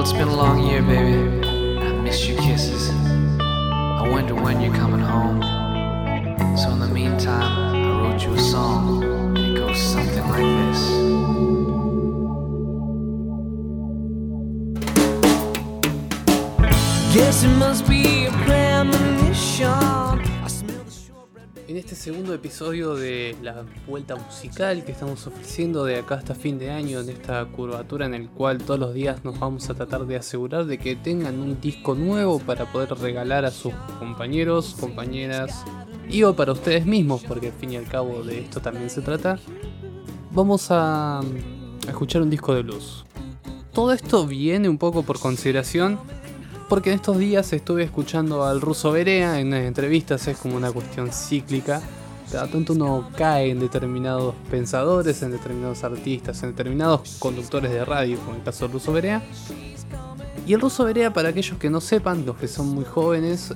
it's been a long year, baby. I missed your kisses. I wonder when you're coming home. So in the meantime, I wrote you a song, and it goes something like this. Guess it must be a premonition. En este segundo episodio de la vuelta musical que estamos ofreciendo de acá hasta fin de año, en esta curvatura en el cual todos los días nos vamos a tratar de asegurar de que tengan un disco nuevo para poder regalar a sus compañeros, compañeras y o para ustedes mismos, porque al fin y al cabo de esto también se trata, vamos a escuchar un disco de blues. Todo esto viene un poco por consideración, porque en estos días estuve escuchando al Russo Berea en unas entrevistas. Es como una cuestión cíclica. Cada tanto uno cae en determinados pensadores, en determinados artistas, en determinados conductores de radio, como el caso del Russo Berea. Y el Russo Berea, para aquellos que no sepan, los que son muy jóvenes,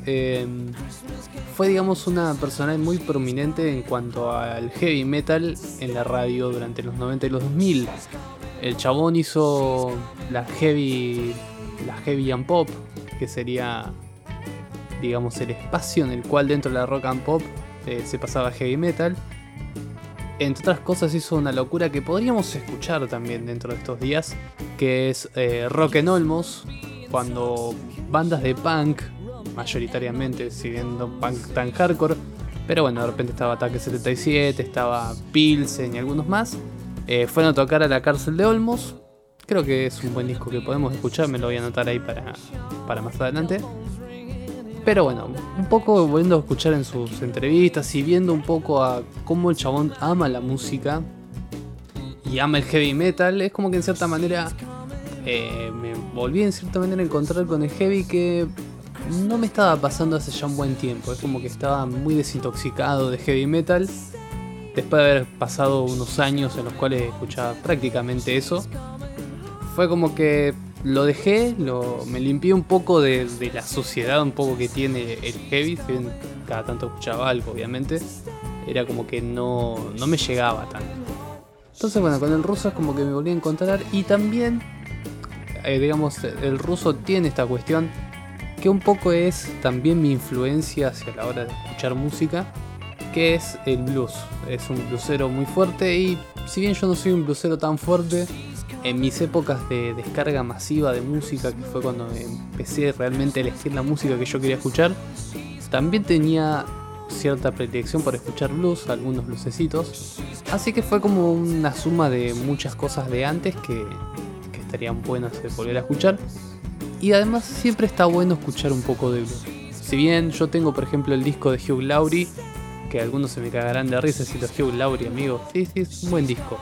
fue, digamos, una personalidad muy prominente en cuanto al heavy metal en la radio durante los 90 y los 2000. El chabón hizo la heavy and pop, que sería, digamos, el espacio en el cual dentro de la rock and pop se pasaba heavy metal. Entre otras cosas hizo una locura que podríamos escuchar también dentro de estos días, que es Rock en Olmos, cuando bandas de punk, mayoritariamente, si bien no punk tan hardcore, pero bueno, de repente estaba Ataque 77, estaba Pilsen y algunos más, fueron a tocar a la cárcel de Olmos. Creo que es un buen disco que podemos escuchar, me lo voy a anotar ahí para más adelante. Pero bueno, un poco volviendo a escuchar en sus entrevistas y viendo un poco a cómo el chabón ama la música y ama el heavy metal, es como que en cierta manera me volví en cierta manera a encontrar con el heavy que no me estaba pasando hace ya un buen tiempo. Es como que estaba muy desintoxicado de heavy metal después de haber pasado unos años en los cuales escuchaba prácticamente eso. Fue como que lo dejé, me limpié un poco de la suciedad un poco que tiene el heavy. Si bien cada tanto escuchaba algo, obviamente, era como que no me llegaba tanto. Entonces bueno, con el Russo es como que me volví a encontrar. Y también, digamos, el Russo tiene esta cuestión que un poco es también mi influencia hacia la hora de escuchar música, que es el blues. Es un bluesero muy fuerte, y si bien yo no soy un bluesero tan fuerte, en mis épocas de descarga masiva de música, que fue cuando empecé realmente a elegir la música que yo quería escuchar, también tenía cierta predilección por escuchar blues, algunos bluesecitos. Así que fue como una suma de muchas cosas de antes que estarían buenas de volver a escuchar. Y además siempre está bueno escuchar un poco de blues. Si bien yo tengo, por ejemplo, el disco de Hugh Laurie, que algunos se me cagarán de risa si lo Hugh Laurie, amigo. Sí, es un buen disco.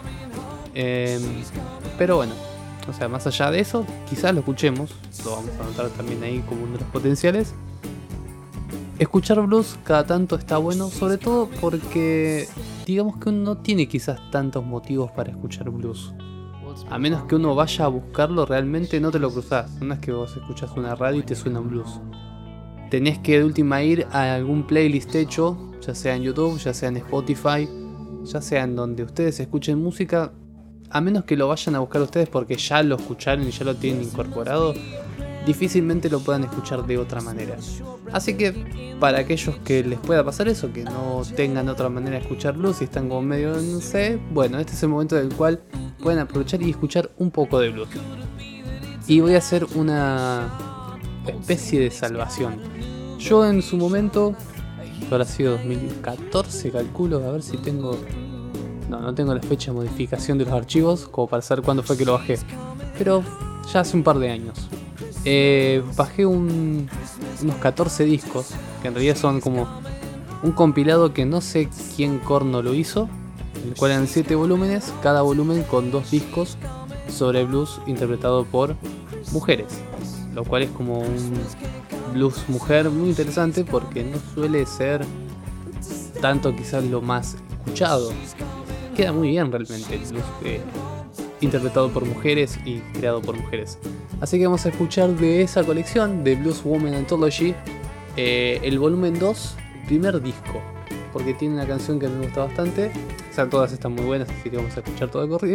Pero bueno, o sea, más allá de eso, quizás lo escuchemos, lo vamos a anotar también ahí como uno de los potenciales. Escuchar blues cada tanto está bueno, sobre todo porque digamos que uno no tiene quizás tantos motivos para escuchar blues. A menos que uno vaya a buscarlo, realmente no te lo cruzás. No es que vos escuchas una radio y te suena un blues. Tenés que de última ir a algún playlist hecho, ya sea en YouTube, ya sea en Spotify, ya sea en donde ustedes escuchen música. A menos que lo vayan a buscar ustedes porque ya lo escucharon y ya lo tienen incorporado, difícilmente lo puedan escuchar de otra manera. Así que para aquellos que les pueda pasar eso, que no tengan otra manera de escuchar blues y están como medio, no sé, bueno, este es el momento del cual pueden aprovechar y escuchar un poco de blues. Y voy a hacer una especie de salvación. Yo en su momento, habrá sido 2014, calculo, a ver si tengo... No tengo la fecha de modificación de los archivos como para saber cuándo fue que lo bajé, pero ya hace un par de años. Bajé unos 14 discos, que en realidad son como un compilado que no sé quién corno lo hizo, en el cual eran 7 volúmenes, cada volumen con 2 discos sobre blues interpretado por mujeres, lo cual es como un blues mujer muy interesante porque no suele ser tanto quizás lo más escuchado. Queda muy bien realmente el blues interpretado por mujeres y creado por mujeres. Así que vamos a escuchar de esa colección de Blues Woman Anthology el volumen 2, el primer disco, porque tiene una canción que me gusta bastante. O sea, todas están muy buenas, así que vamos a escuchar todo de corrido.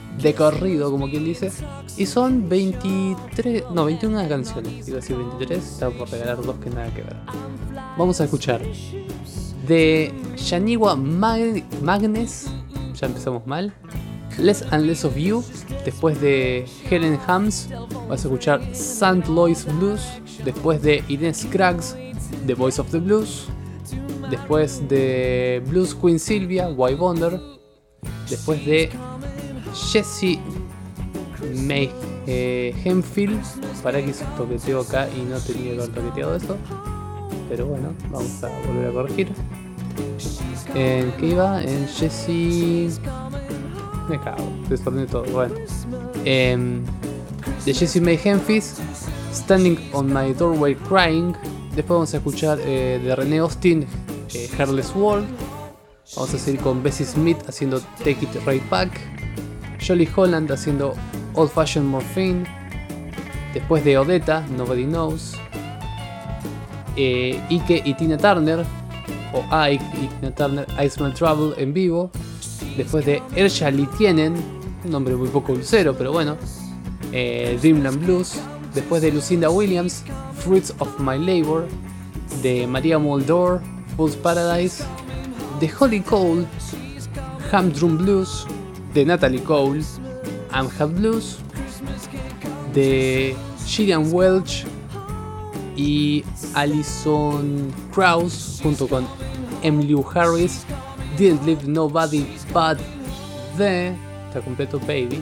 de corrido, como quien dice. Y son 21 canciones. Iba a decir 23, estaba por regalar 2 que nada que ver. Vamos a escuchar de Yaniwa Magnes, ya empezamos mal. Less and Less of You. Después de Helen Hams vas a escuchar St. Louis Blues. Después de Ines Scruggs, The Voice of the Blues. Después de Blues Queen Sylvia, Why Wonder. Después de Jessie May Hemphill. Para que hice un toqueteo acá y no tenía que haber toqueteado eso. Pero bueno, vamos a volver a corregir. ¿En qué iba? En Jessie... Me cago, desordené todo. Bueno. De Jessie May Hemphill, Standing on My Doorway Crying. Después vamos a escuchar de René Austin, Hairless World. Vamos a seguir con Bessie Smith haciendo Take It Right Back. Jolly Holland haciendo Old Fashioned Morphine. Después de Odetta, Nobody Knows. Ike y Tina Turner, o Ike y Tina Turner, I Smell Trouble en vivo. Después de Erja Litienen, un nombre muy poco dulcero, pero bueno, Dreamland Blues. Después de Lucinda Williams, Fruits of My Labor. De Maria Muldaur, Fool's Paradise. De Holly Cole, Humdrum Blues. De Natalie Cole, Amhat Blues. De Gillian Welch y Alison Krauss junto con Emmylou Harris, Didn't Leave Nobody But The, está completo, Baby.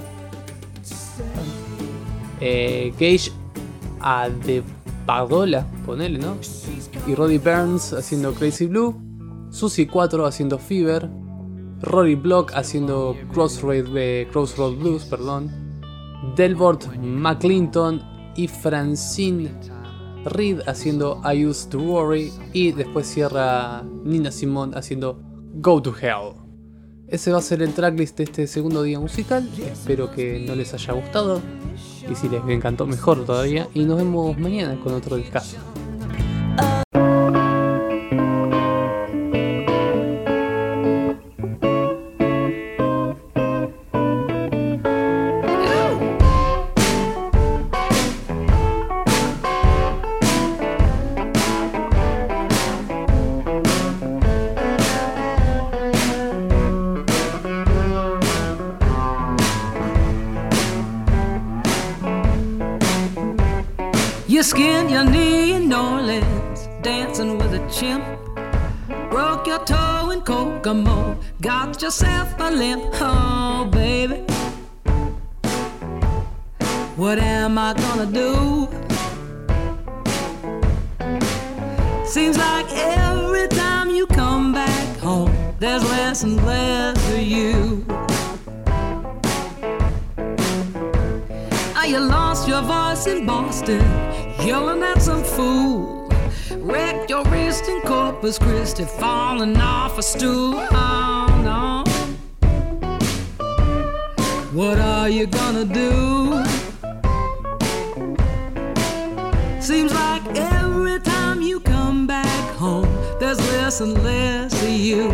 Gage Adebadola, ponele, ¿no? Y Roddy Burns haciendo Crazy Blue. Susie 4 haciendo Fever. Rory Block haciendo Crossroad Blues, perdón. Delbert McClinton y Francine Reed haciendo I Used to Worry. Y después cierra Nina Simone haciendo Go to Hell. Ese va a ser el tracklist de este segundo día musical. Espero que no les haya gustado. Y si les encantó, mejor todavía. Y nos vemos mañana con otro discazo. You skinned your knee in New Orleans, dancing with a chimp. Broke your toe in Kokomo, got yourself a limp. Oh, baby, what am I gonna do? Seems like every time you come back home, there's less and less of you. You lost your voice in Boston, yelling at some fool. Wrecked your wrist in Corpus Christi, falling off a stool. Oh no, what are you gonna do? Seems like every time you come back home, there's less and less of you.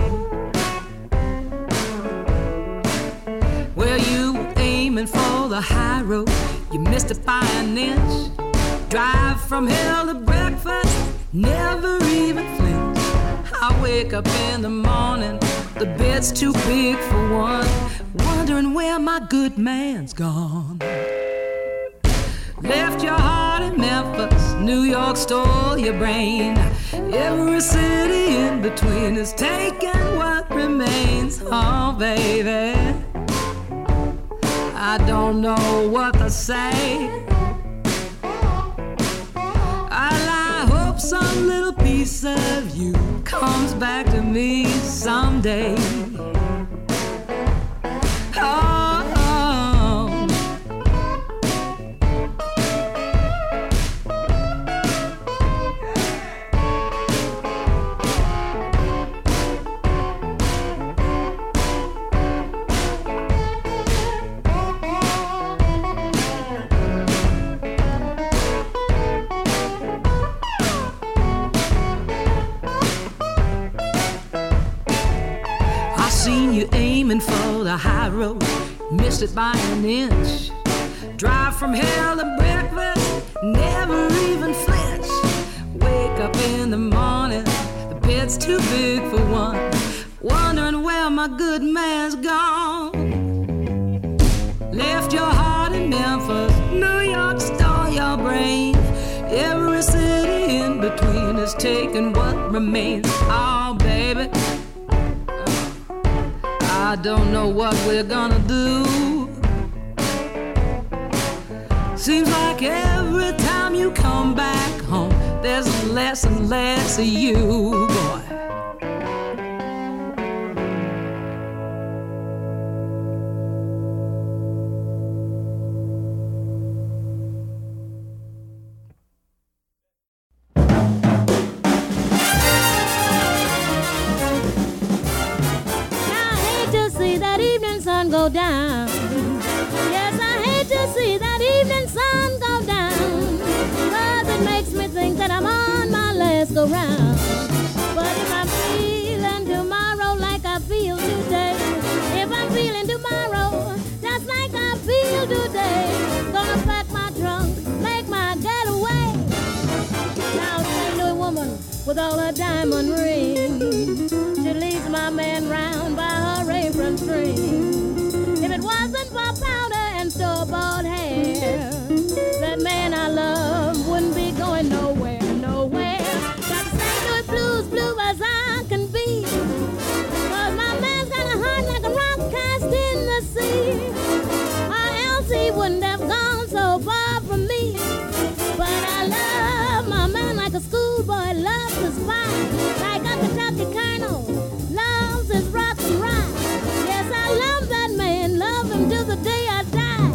Well, you were aiming for the high road, you missed it by an inch. Drive from hell to breakfast, never even flinch. I wake up in the morning, the bed's too big for one, wondering where my good man's gone. Left your heart in Memphis, New York stole your brain. Every city in between is taking what remains. Oh baby, I don't know what to say. I hope some little piece of you comes back to me someday. Oh, oh. Seen you aiming for the high road, it by an inch. Drive from hell to breakfast, never even flinch. Wake up in the morning, the bed's too big for one. Wondering where my good man's gone. Left your heart in Memphis, New York stole your brain. Every city in between is taking what remains. Oh, baby, I don't know what we're gonna do. Seems like every time you come back home, there's less and less of you, boy. Go down. Yes, I hate to see that evening sun go down, 'cause it makes me think that I'm on my last go round. But if I'm feeling tomorrow like I feel today, if I'm feeling tomorrow just like I feel today, gonna pack my trunk, make my getaway. Now, St. Louis woman with all her diamond rings, she leads my man round by her apron string. If it wasn't for powder and store-bought hair, that man I love wouldn't be going nowhere, nowhere. Got the St. Louis blues, blue as I can be, 'cause my man's got a heart like a rock cast in the sea, or else he wouldn't have gone so far from me. But I love my man like a schoolboy loves his pie, like a Kentucky colonel loves his rock and rye. Yes, I love that man, love him till the day I die.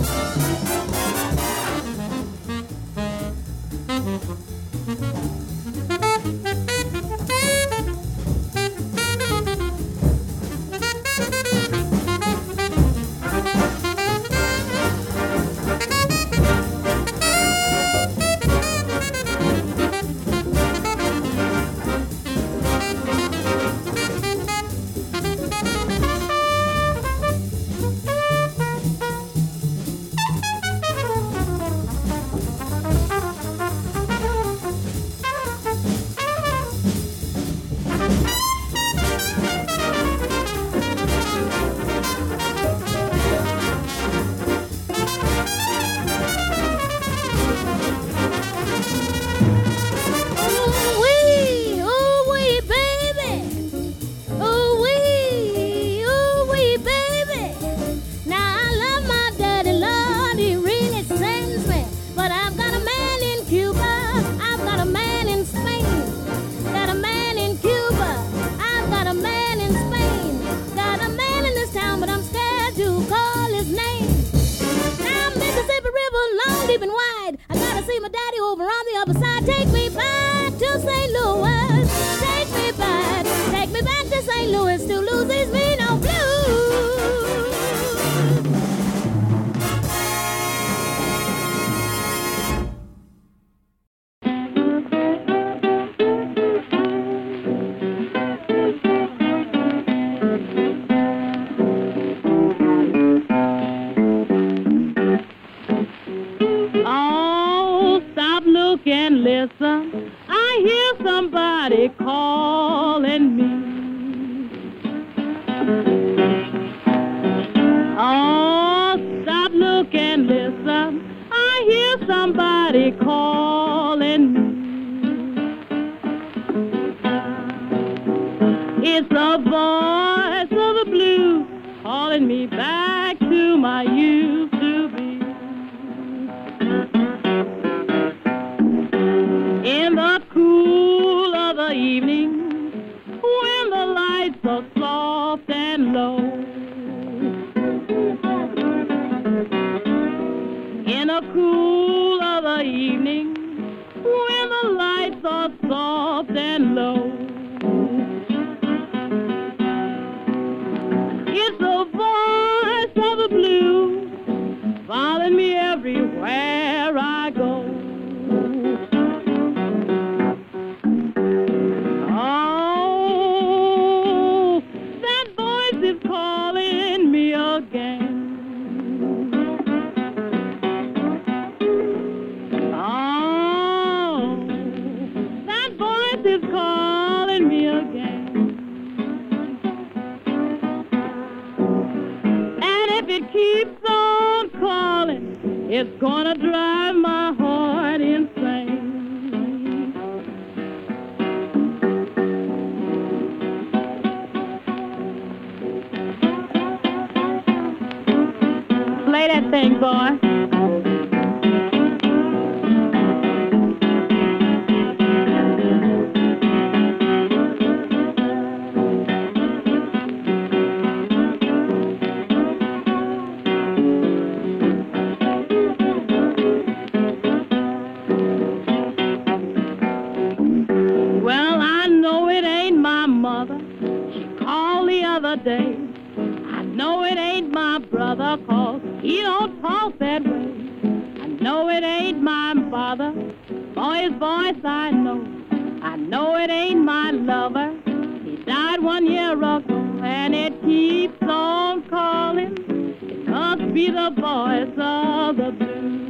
deep and wide. I gotta see my daddy over on the other side. Take me back to St. Louis. Take me back to St. Louis. To lose these me no blues. And listen, I hear somebody calling me. Oh, stop, look, and listen, I hear somebody calling me. It's the voice of the blues calling me back to my youth to be. In the cool of the evening, when the lights are soft and low, in the cool of the evening, when the lights are soft and low, it's the voice of the blues following me everywhere I go. Calling me again. It's gonna drive my heart insane. Play that thing, boy. Day. I know it ain't my brother, 'cause he don't talk that way. I know it ain't my father, for his voice I know. I know it ain't my lover, he died 1 year ago, and it keeps on calling. It must be the voice of the blues.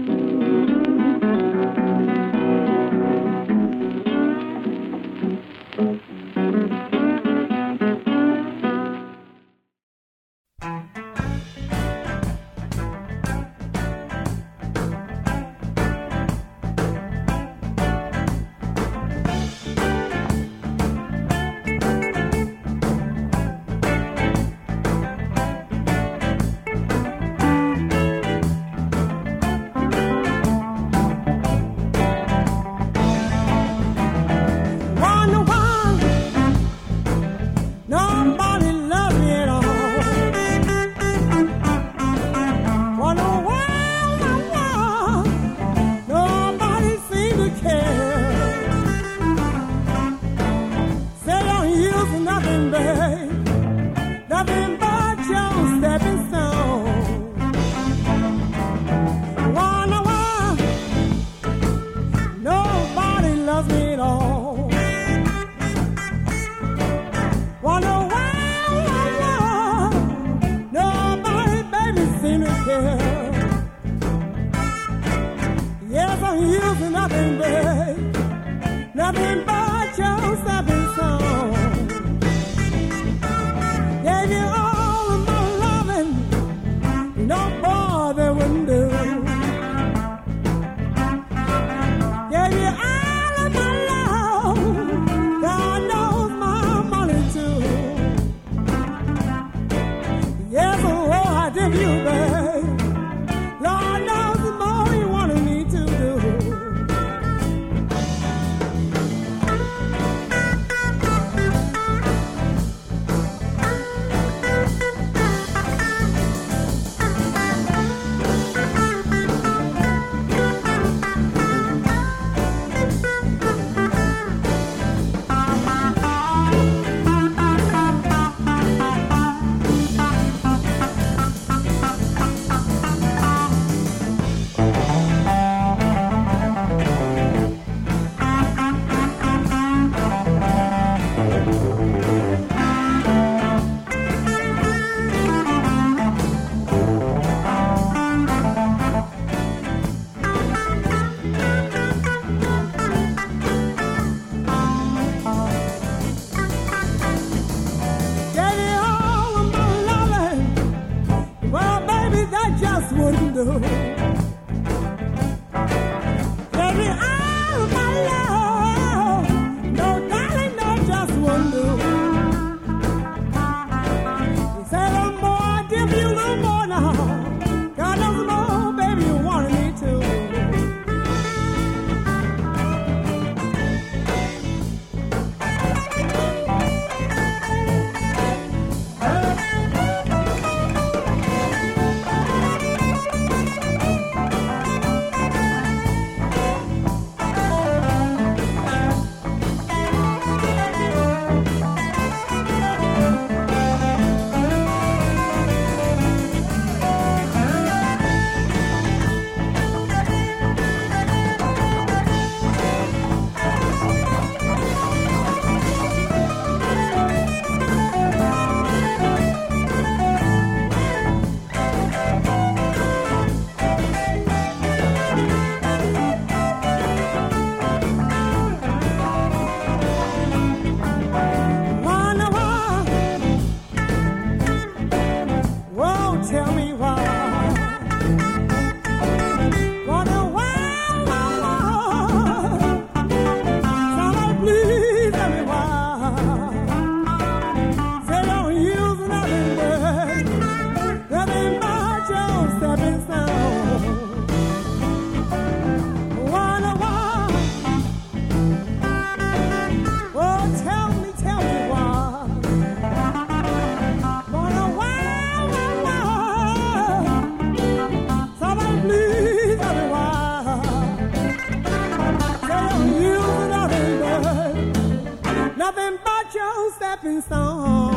stepping stone.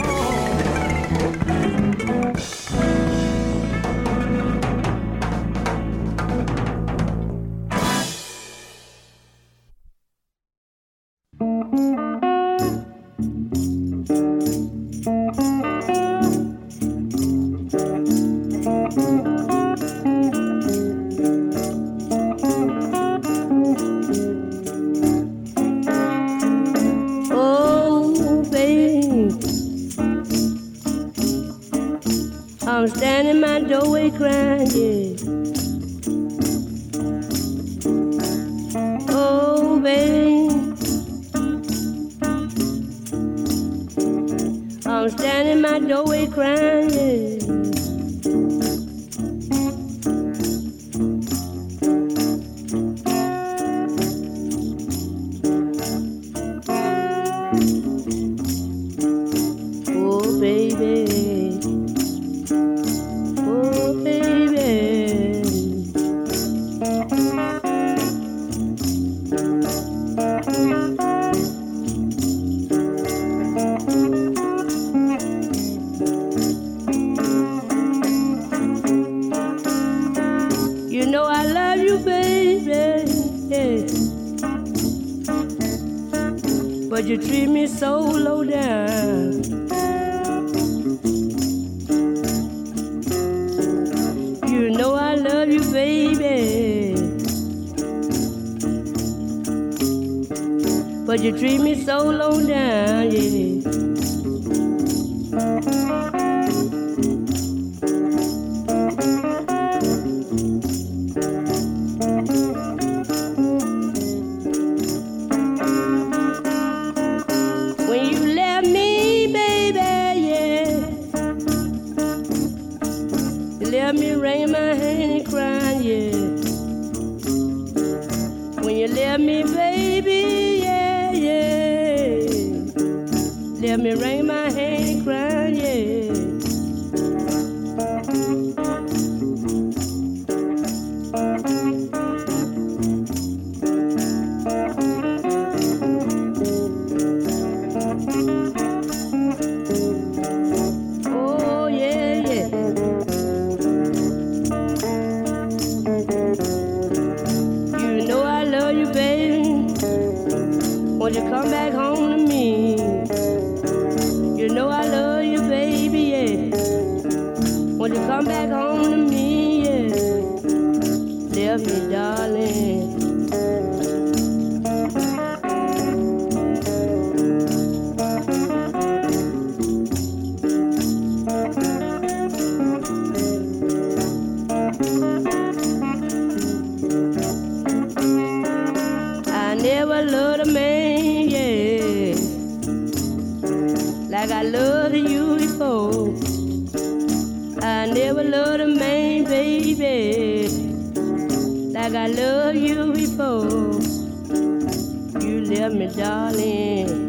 I'm standing in my doorway crying, yeah. Oh, baby, I'm standing in my doorway crying, yeah. Oh, baby. You know I love you, baby, yeah. But you treat me so low down. You know I love you, baby, but you treat me so low down, yeah. When you left me, baby, yeah, you left me wringing my hand and crying, yeah. When you left me, baby, yeah, yeah, left me wringing my hand and crying, yeah. Oh, yeah, yeah. You know I love you, baby. Won't you come back home to me? You know I love you, baby, yeah. Won't you come back home to me, yeah. Love me, darling. I never loved a man, yeah, like I loved you before. I never loved a man, baby, like I loved you before. You left me, darling.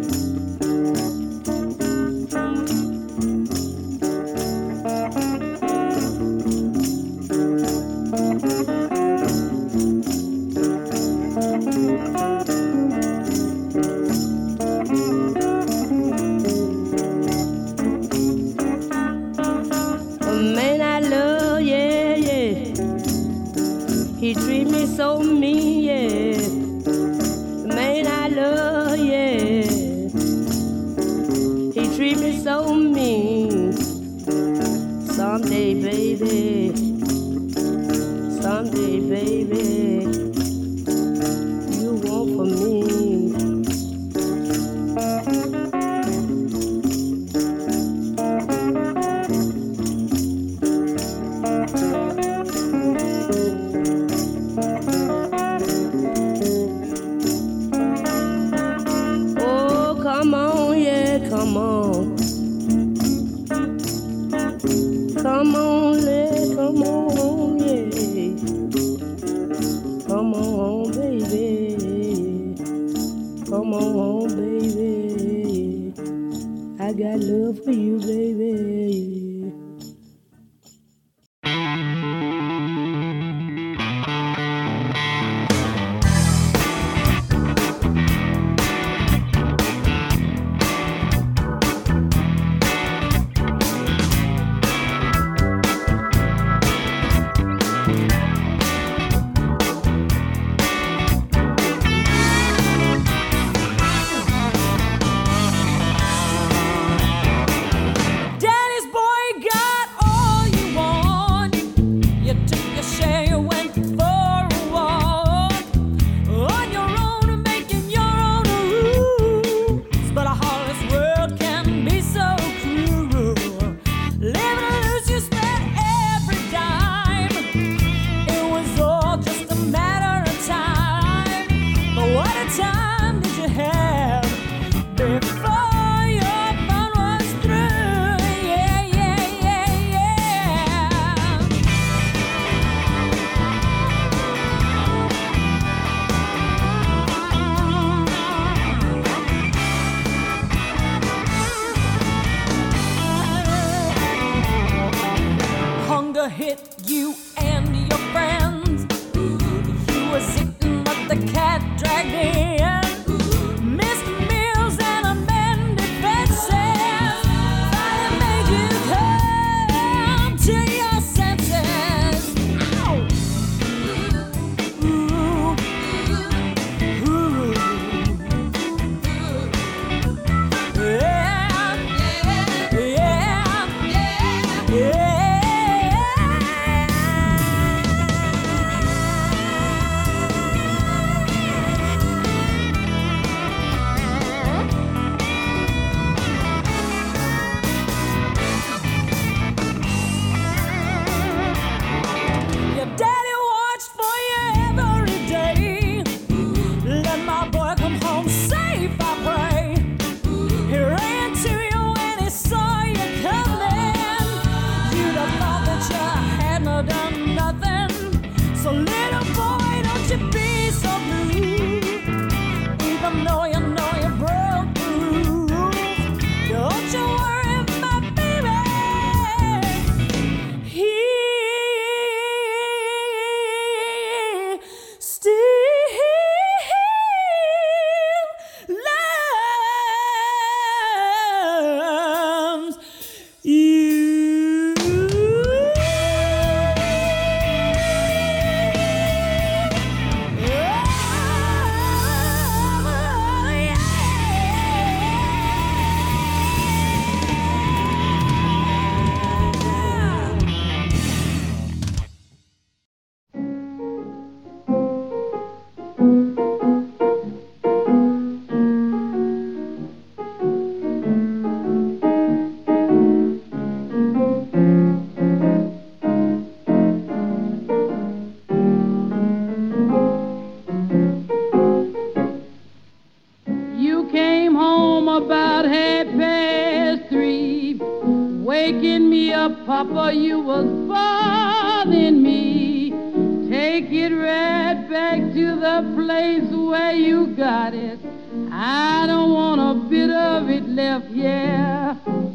A man I love, yeah, yeah, he treat me so mean, yeah. The man I love, yeah, he treat me so mean. Someday, baby, someday, baby, you want for me. Oh, come on, yeah, come on. Come on, yeah, come on, yeah. Come on, baby. Come on, baby. I got love for you, baby. daddy watched for you every day. Let my boy come home safe, I pray. He ran to you when he saw you coming. You'd have thought that you hadn't done nothing. So little boy, don't you be so blue. Even though you know you broke the rules, don't you worry, my baby. He still loves you. You came home about 3:30, waking me up, Papa, you was bothering me. Take it right back to the place where you got it. I don't want a bit of it left, yeah.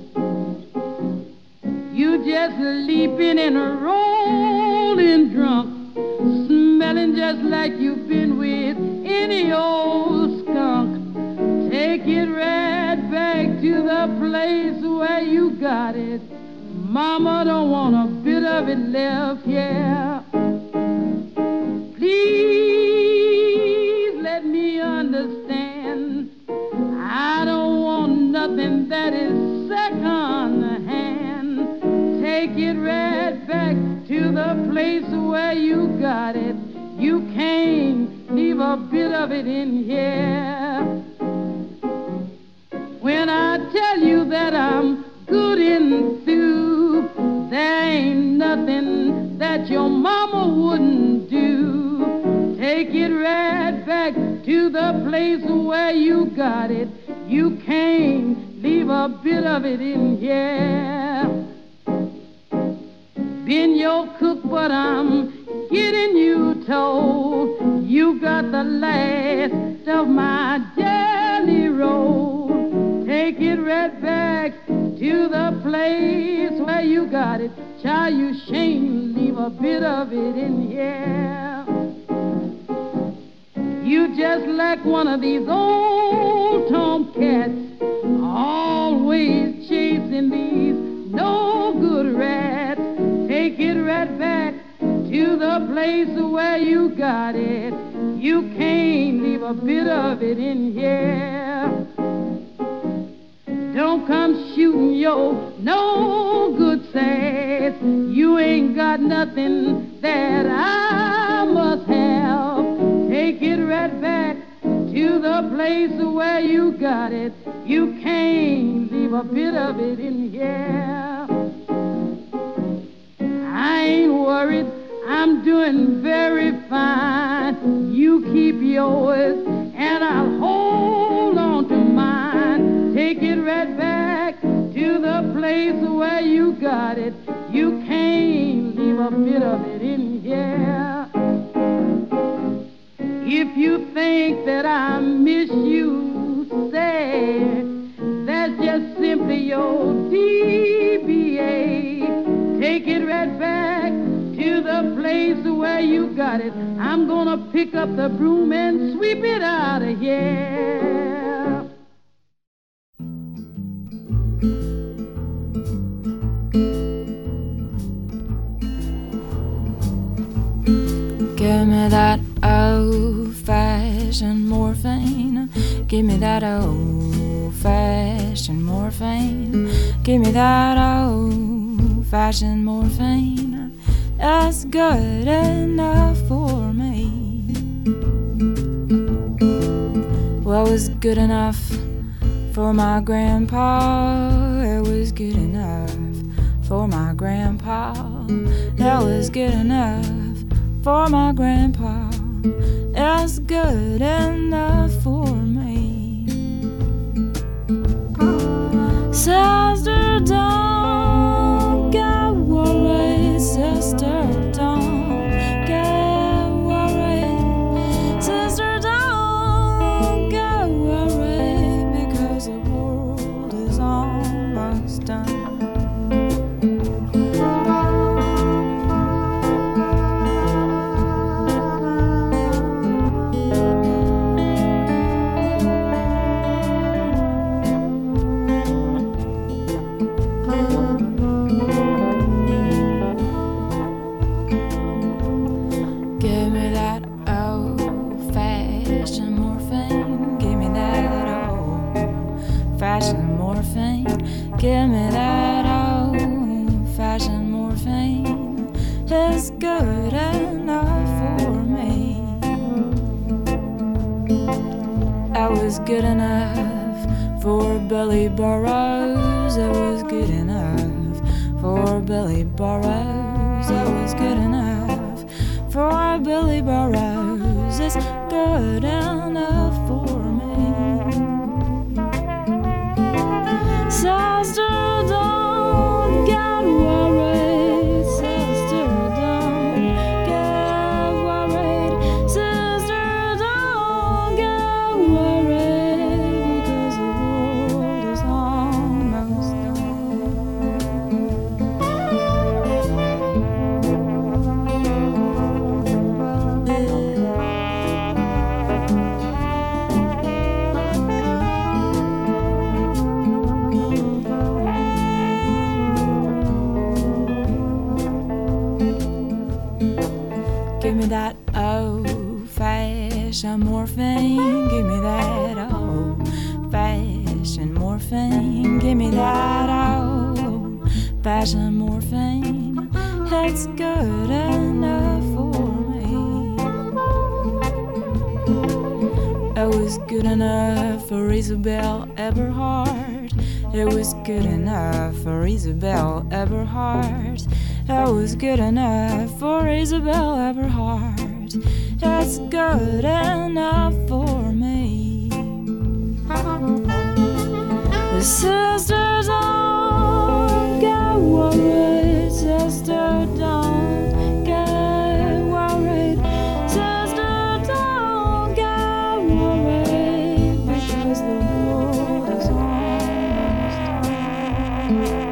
You just leaping and rolling drunk, smelling just like you've been with any old skunk. Take it right back to the place where you got it. Mama don't want a bit of it left, yeah. Please let me understand. I don't want nothing that is second hand. Take it right back to the place where you got it. You can't leave a bit of it in here. When I tell you that I'm good and through, there ain't nothing that your mama wouldn't do. Take it right back to the place where you got it. You can't leave a bit of it in here. Been your cook, but I'm getting you told you got the last of my jelly roll. Take it right back to the place where you got it. Child, you shame, leave a bit of it in here. You just like one of these old tomcats, always chasing these no good rats. Take it right back to the place where you got it. You can't leave a bit of it in here. Don't come shooting your no good sass. You ain't got nothing that I must have. Take it right back to the place where you got it. You can't leave a bit of it in here. I ain't worried, I'm doing very fine. You keep yours and I'll hold on to mine. Take it right back to the place where you got it. You can't leave a bit of it in here. If you think that I miss you, say that's just simply your DBA. Take it right back to the place where you got it. I'm gonna pick up the broom and sweep it out of here. Give me that old-fashioned morphine. Give me that old-fashioned morphine. Give me that old-fashioned morphine. That's good enough for me. Well, it was good enough for my grandpa. It was good enough for my grandpa. That was good enough for my grandpa is good enough for me. Sister, don't get worried. Sister, don't get worried. Sister, don't get worried, because the world is almost done. Give me that old-fashioned morphine. It's good enough for me. That was good enough for Billy Burrows. It was good enough for Billy Burrows. It was good enough for Billy Burrows. It's good enough for me. Sister, don't get worried. Sister, don't get worried. Sister, don't get worried, because the world is almost Give me that old-fashioned morphine. Give me that old-fashioned morphine. Give me that old-fashioned morphine. It's good enough for me. It was good enough for Isabel Eberhardt. It was good enough for Isabel Eberhardt. It was good enough for Isabel Eberhardt. It's good enough for me. The sisters don't get worried. Sister, don't get worried. Sister, don't get worried, because the world is almost done.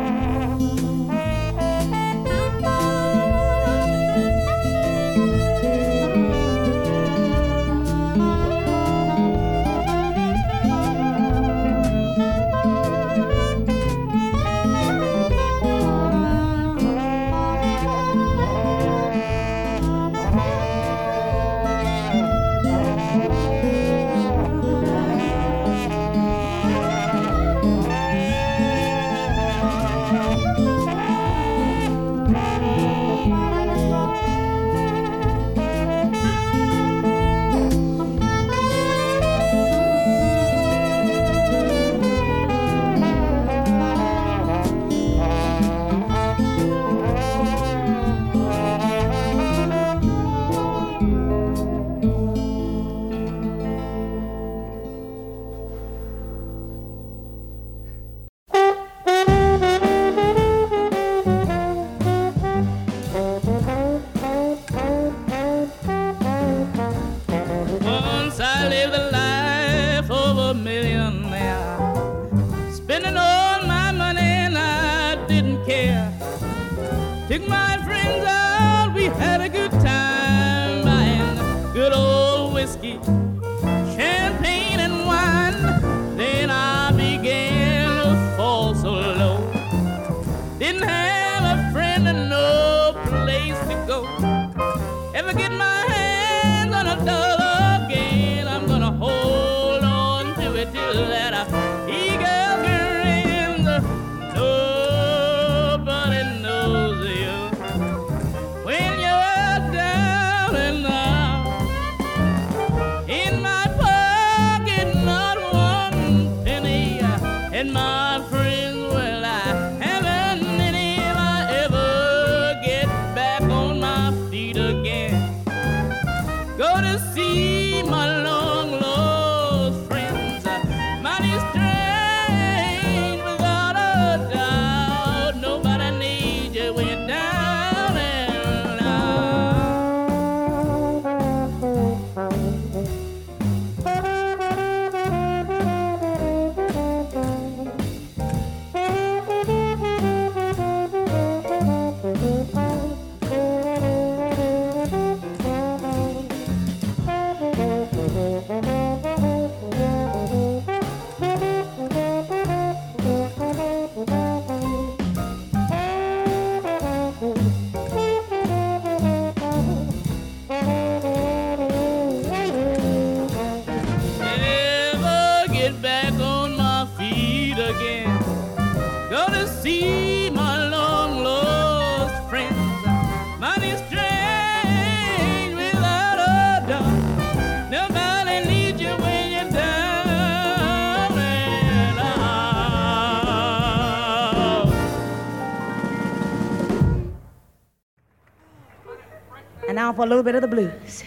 now for a little bit of the blues.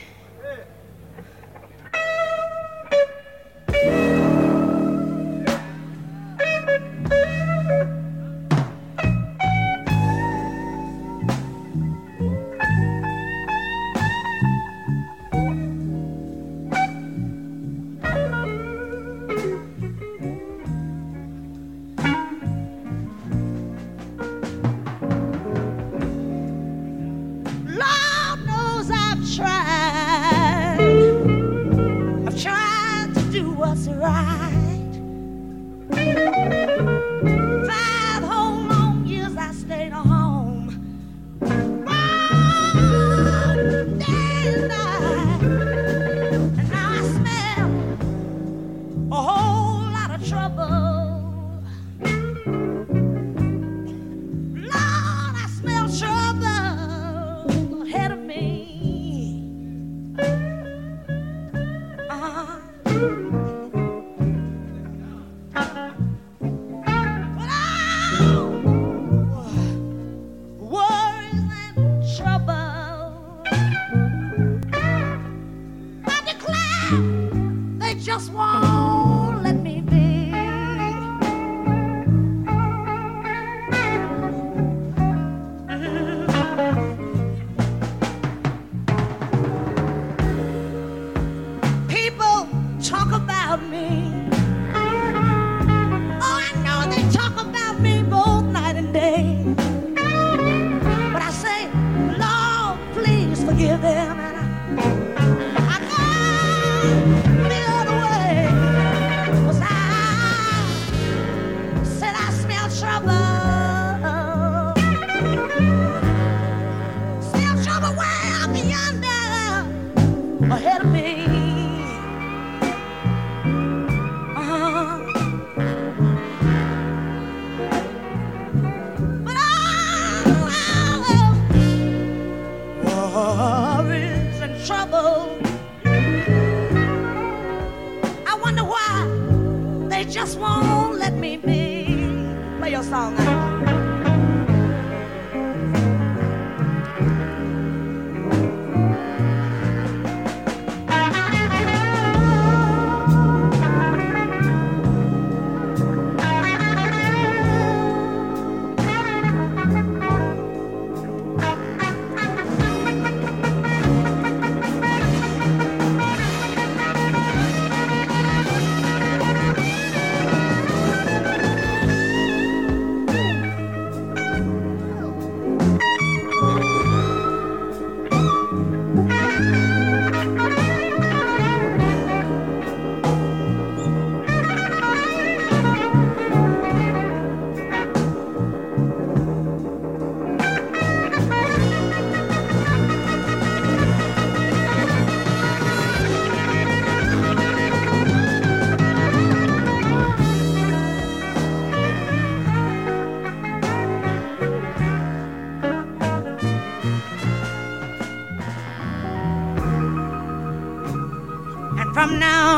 From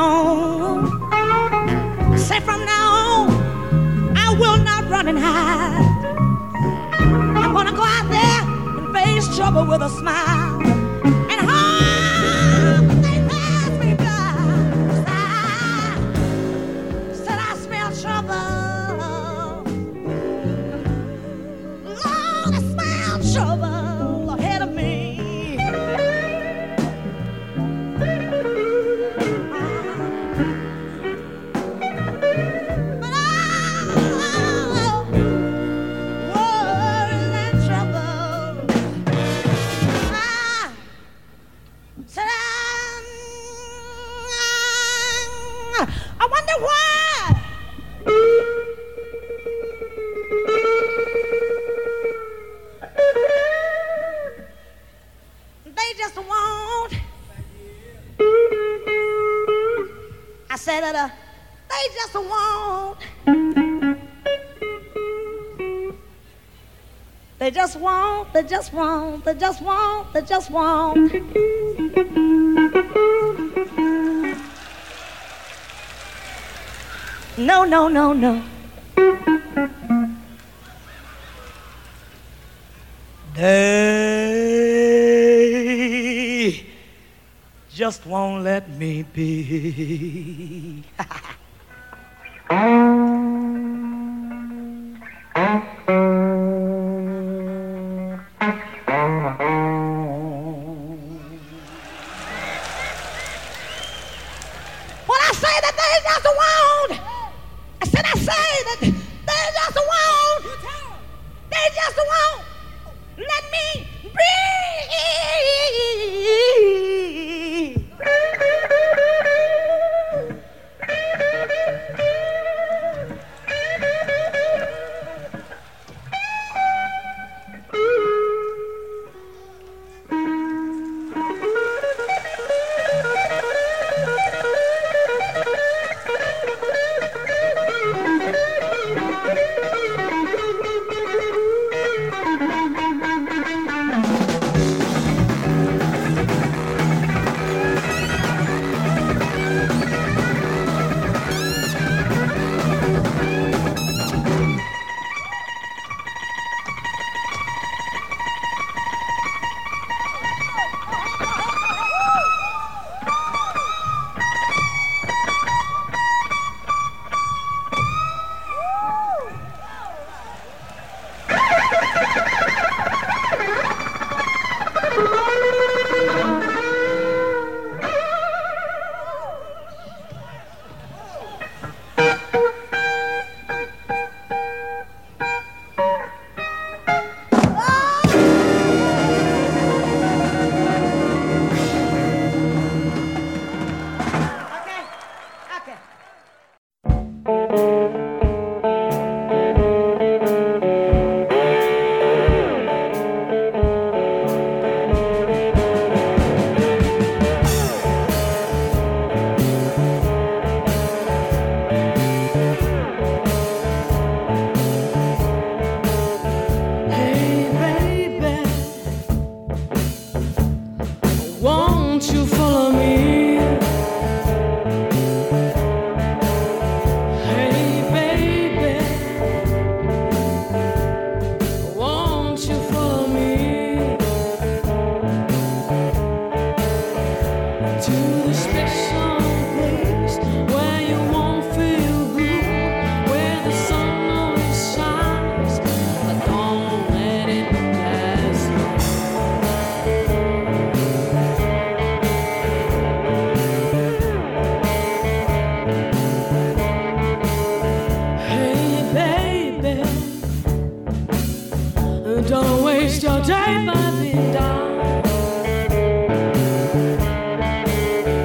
now, say from now on, I will not run and hide. I'm gonna go out there and face trouble with a smile. And hope they pass me by. 'Cause I said I smell trouble. Lord, I smell trouble ahead of me. I wonder why. They just won't. I said that they just won't. They just won't, they just won't, they just won't, they just won't. No, no, no, no. They just won't let me be. When I say that they just won't, I say that they just won't, they just won't let me breathe. Don't waste your day by being down.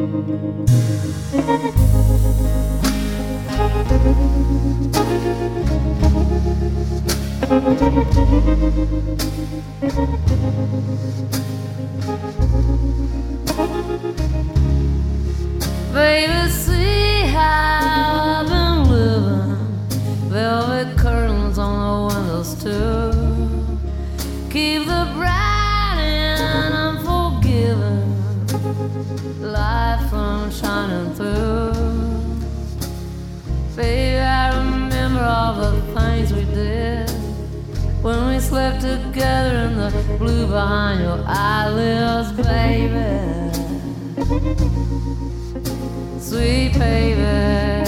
Baby, see how I've been living. Velvet curtains on the windows too. Keep the bright and unforgiving light from shining through. Baby, I remember all the things we did when we slept together in the blue behind your eyelids, baby. Sweet baby,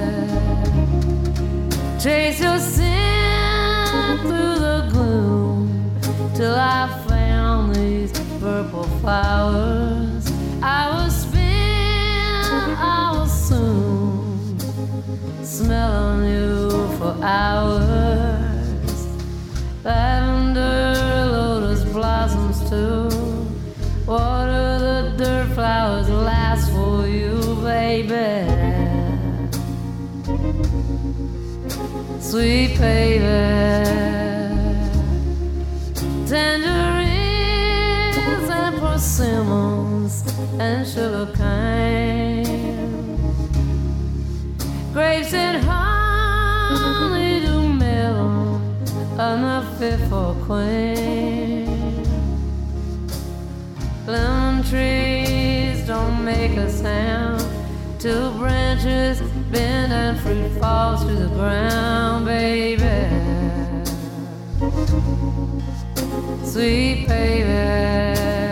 chase your sin through the gloom till I found these purple flowers. I was spin, I was soon smelling you for hours. Lavender, lotus blossoms too. Water the dirt flowers last for you, baby. Sweet baby, tangerines and persimmons and sugar cane, grapes and honey to melon, enough fit for a queen. Lemon trees don't make a sound till branches bend and fruit falls to the ground, baby. Sweet baby,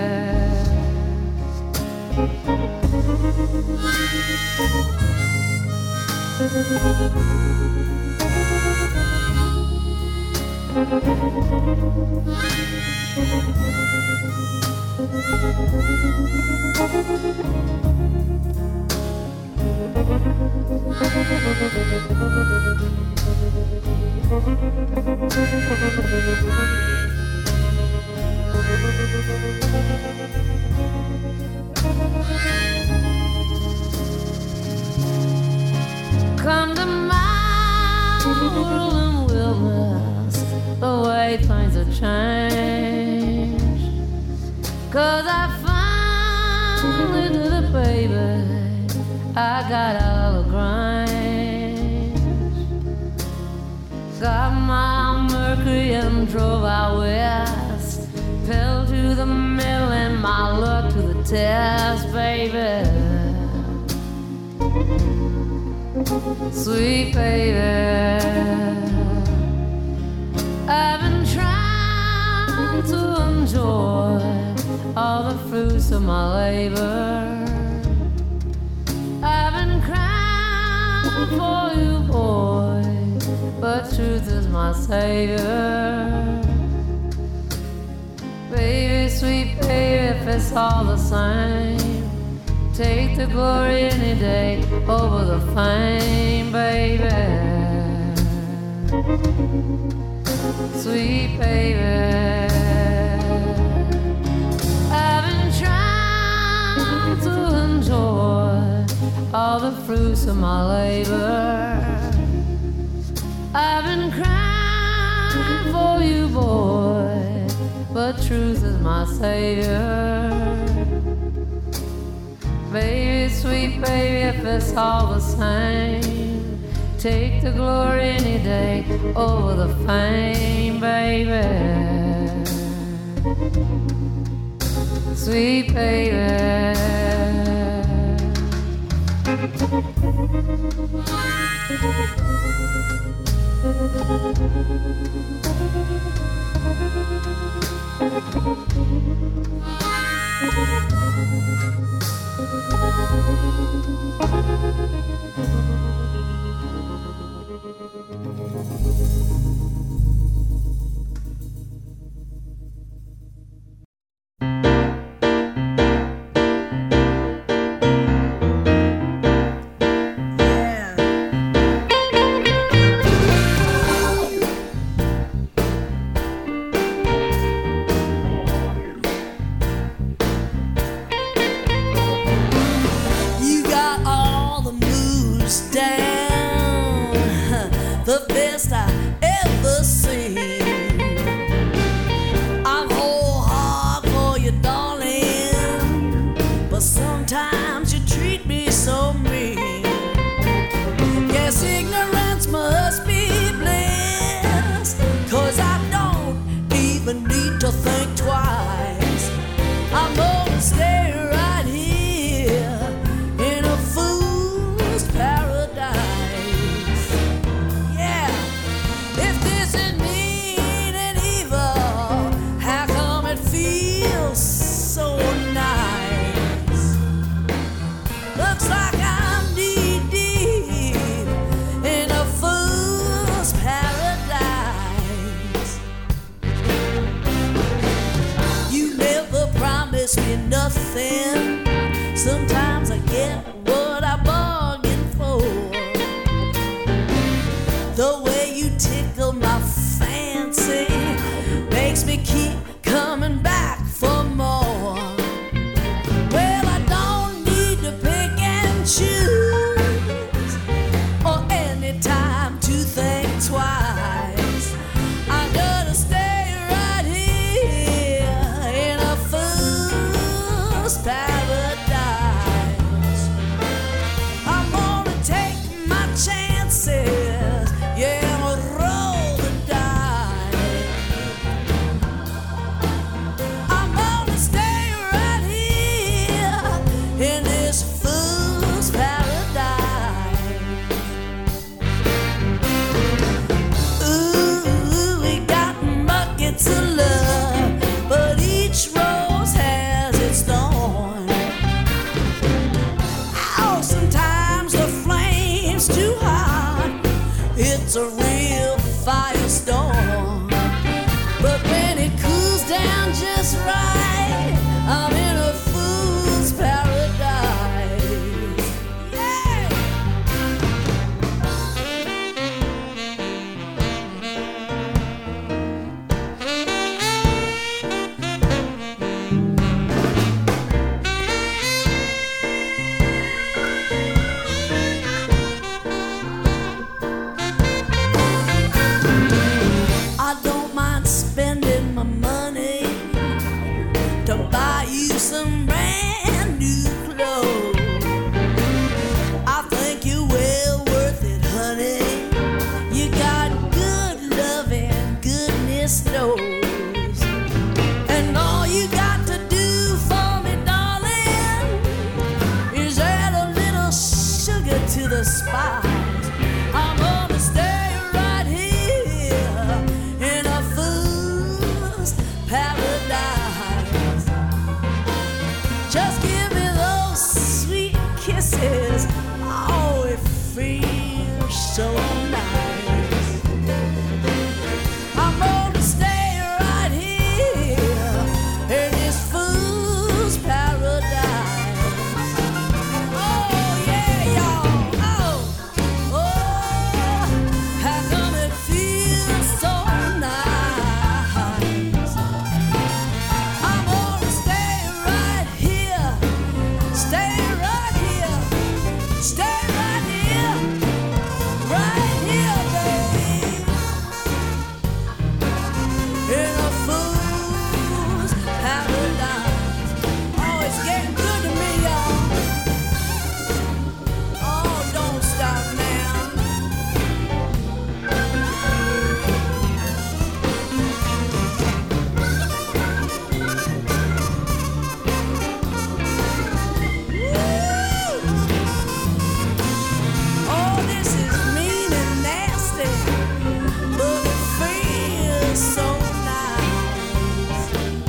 come to my world and wilderness, the way things have changed. 'Cause I finally did it, baby, I got out of the Grange, got my Mercury and drove out west, fell to the middle and my luck to the test, baby. Sweet baby, I've been trying to enjoy all the fruits of my labor. I've been crying for you, boy, but truth is my savior. Baby, sweet baby, if it's all the same, take the glory any day over the fame, baby. Sweet baby, I've been trying to enjoy all the fruits of my labor. I've been crying for you, boy, but truth is my savior. Baby, sweet baby, if it's all the same, take the glory any day over the fame, baby. Sweet baby, Sometimes you treat me so mean. Yes, ignorance must be bliss, 'cause I don't even need to think twice. I'm gonna stay right here in a fool's paradise. Yeah, if this is mean and evil, how come it feels so nice? Looks like I'm knee deep in a fool's paradise. You never promised me nothing. Sometimes I get what I bargained for. The way you tickle my fancy makes me keep coming back for more. Well, I don't need to pick and choose or any time to think twice. I'm gonna stay right here in a fool's paradise. I'm gonna take my chances, yeah, I'm gonna roll the dice. I'm gonna stay right here in this fool's paradise. Ooh, we got buckets of love, but each rose has its thorn. Oh, sometimes the flame's too hot. It's a real firestorm. But when it cools down just right, I'm in a fool's paradise. Yeah. I don't mind spending my money to buy you some brand new clothes. I think you're well worth it, honey. You got good loving, goodness knows. And all you got to do for me, darling, is add a little sugar to the spice. I'm gonna stay right here in a fool's paradise. Just give me those sweet kisses. Oh, it feels so nice. I'm gonna stay right here in this fool's paradise. Oh yeah, y'all. Oh, oh, how come it feels so nice? I'm gonna stay right here, stay right here, stay right here, right here, babe. In a fool's paradise. Oh, it's getting good to me, y'all. Oh, don't stop now. Oh, this is mean and nasty, but it feels so nice.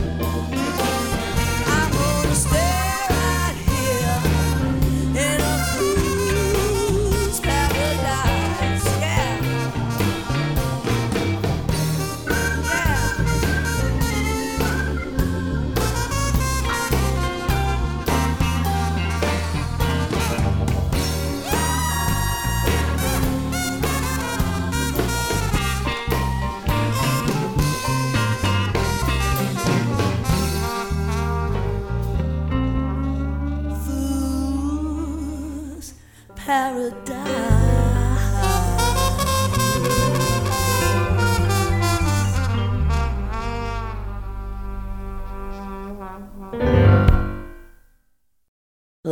I'm gonna stay right here in a fool's paradise. Yeah. Yeah. Fool's paradise.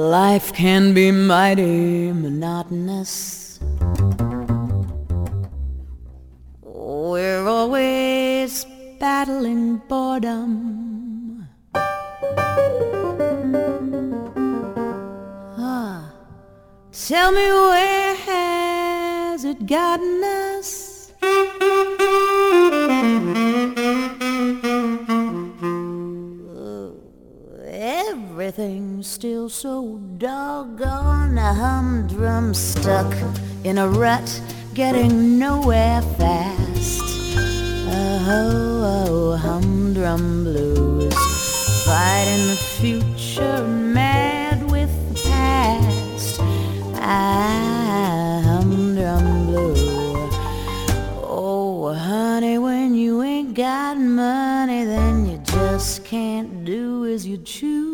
Life can be mighty monotonous. We're always battling boredom. Tell me, where has it gotten us? Everything's still so doggone humdrum, stuck in a rut, getting nowhere fast. Oh, humdrum blues, fighting the future, mad with the past. Humdrum blue. Oh, honey, when you ain't got money, then you just can't do as you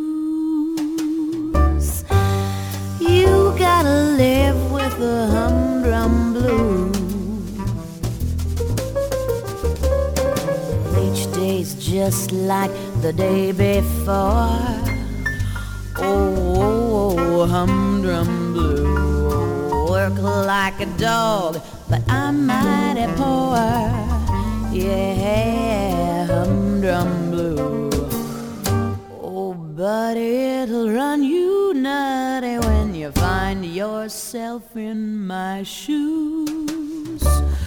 choose. You gotta live with the humdrum blues. Each day's just like the day before. Oh, humdrum blue. Work like a dog, but I'm mighty poor. Yeah, humdrum blue. Oh, buddy, it'll run you nutty when you find yourself in my shoes,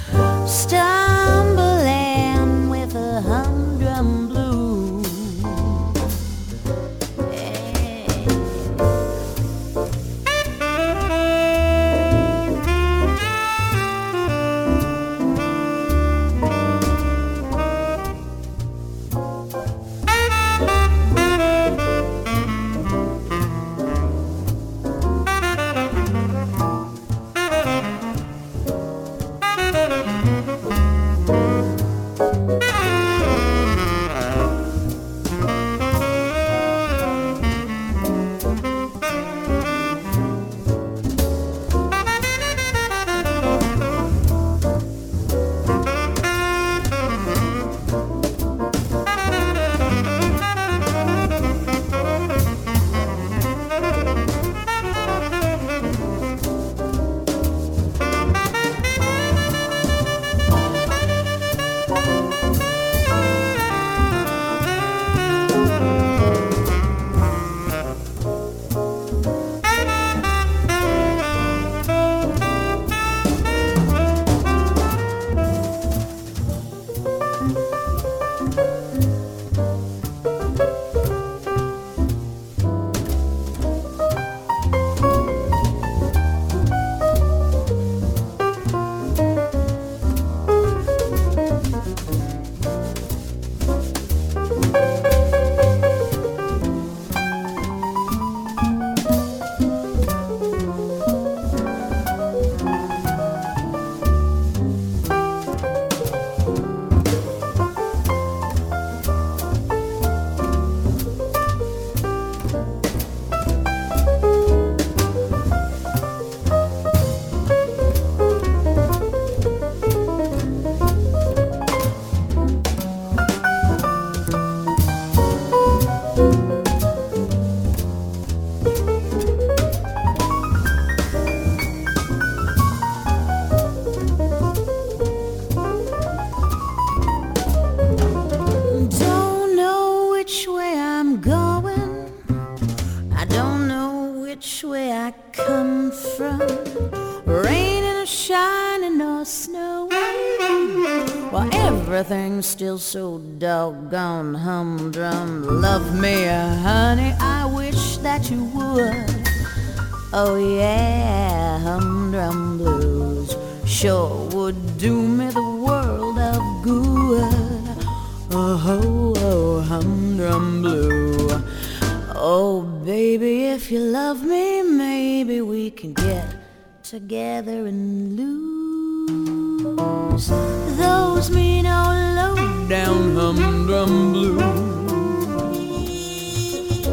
stumbling with a humdrum blue. Everything's still so doggone humdrum. Love me, honey, I wish that you would. Oh yeah, humdrum blues sure would do me the world of good. Oh, humdrum blue. Oh, baby, if you love me, maybe we can get together and lose those mean old low-down humdrum blues.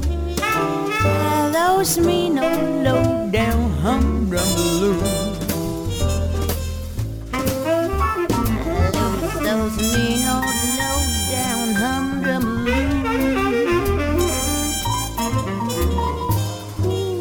Those mean old low-down humdrum blues. Those mean old low-down humdrum blues.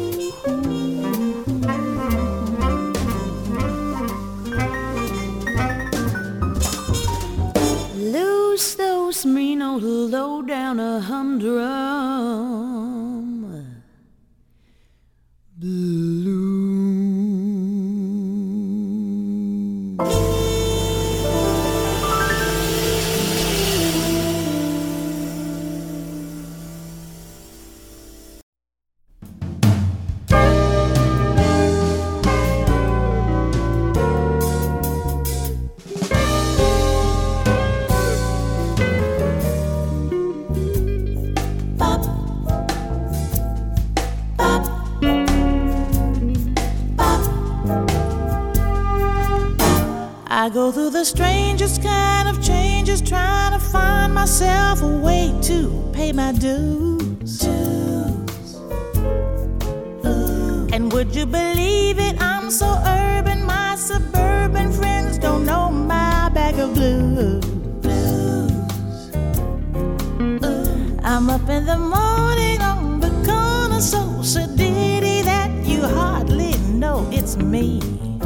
I go through the strangest kind of changes, trying to find myself a way to pay my dues. And would you believe it, I'm so urban, my suburban friends don't know my bag of blues. I'm up in the morning on the corner, so sedity that you hardly know it's me.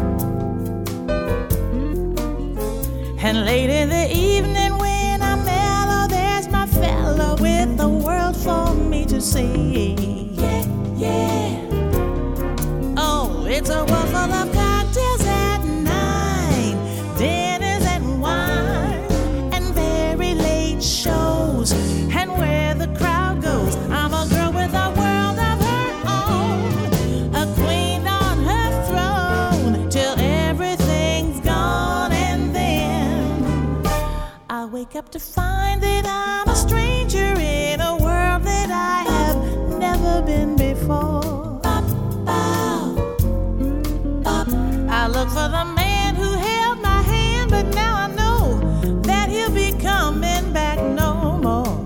And late in the evening when I'm mellow, there's my fellow with the world for me to see. Yeah, yeah. Oh, it's a world full of cocktails at 9, dinners and wine, and very late shows. And where the crowd goes, I'm a girl with a world of her own, a queen on her throne, till everything's gone. And then I wake up to find that I'm a stranger in a world that I have never been before. I look for the man who held my hand, but now I know that he'll be coming back no more.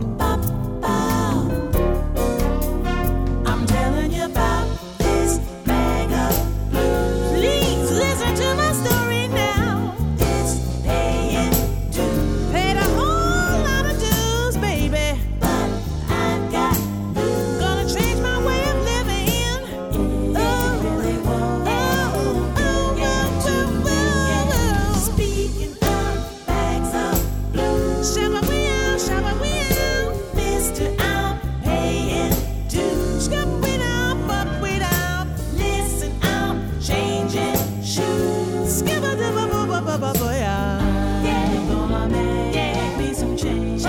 I'm telling you about this bag of blues. Please listen to my story now. It's paying dues. Paid a whole lot of dues, baby. But I've got blues. Gonna change my way of living. Speaking of bags of blues, shabba Mister, I'm paying dues. Wait up. Listen, I'm changing shoes. Yeah, gonna make me some changes.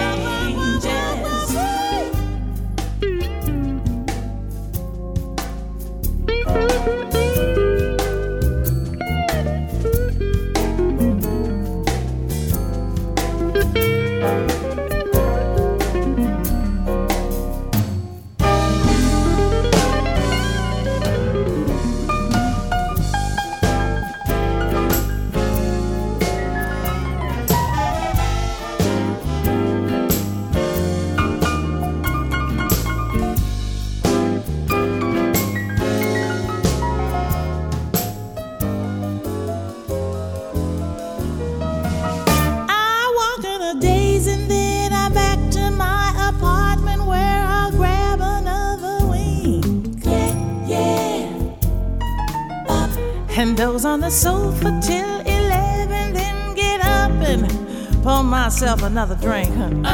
And doze on the sofa till 11, then get up and pour myself another drink.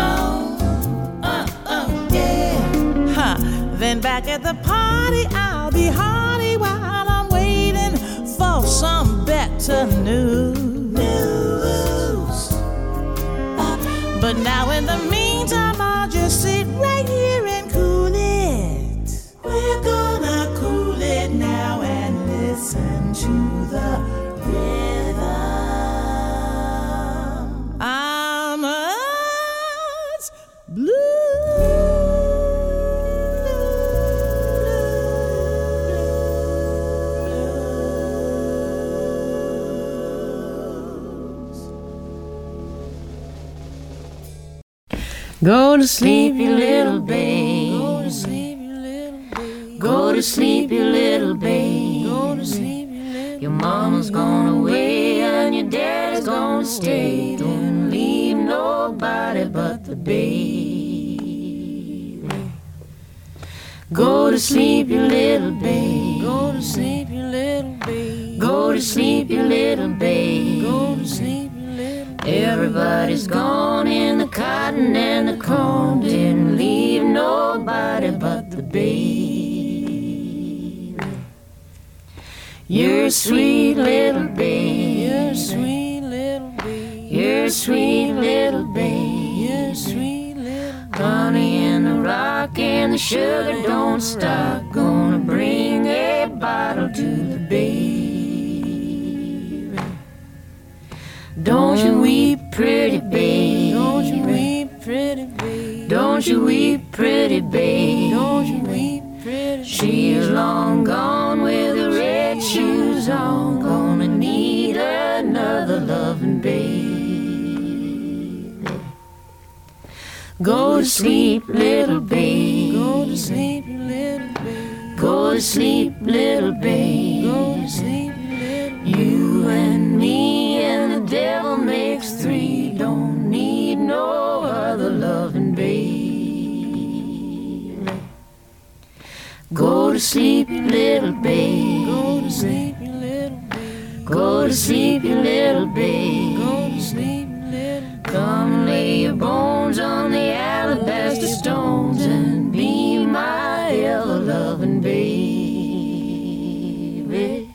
Yeah. Then back at the party, I'll be hearty while I'm waiting for some better news. But now in the meantime, I'll just sit right here and cool it. We're gonna cool it now and listen to the rhythm. I'm us blue. Go to sleep, you little babe. Go to sleep, you little babe. Go to sleep, you little babe. Your mama's gone away and your daddy's gonna stay. Don't leave nobody but the baby. Go to sleep, you little babe. Go to sleep, you little babe. Go to sleep, you little babe. Go to sleep, you little babe. Everybody's gone in the cotton and the corn. Didn't leave nobody but the baby. You're a sweet little babe. You're a sweet little babe. You're a sweet little babe. You're a sweet little babe. Honey in the rock and the sugar don't stop. Gonna bring a bottle to the baby. Don't you weep, pretty babe. Don't you weep, pretty babe. Don't you weep, pretty babe. Don't you weep, pretty babe. She's long gone with her red shoes on. Gonna need another other loving baby. Go to sleep, little baby. Go to sleep, little baby. Go to sleep, little baby. Go to sleep, little baby. You and me and the devil makes three. Don't need no other loving baby. Go to sleep, little baby. Go to sleep, little baby. Go to sleep, little baby. Go to sleep. Come lay your bones on the alabaster stones and be my ever-loving baby.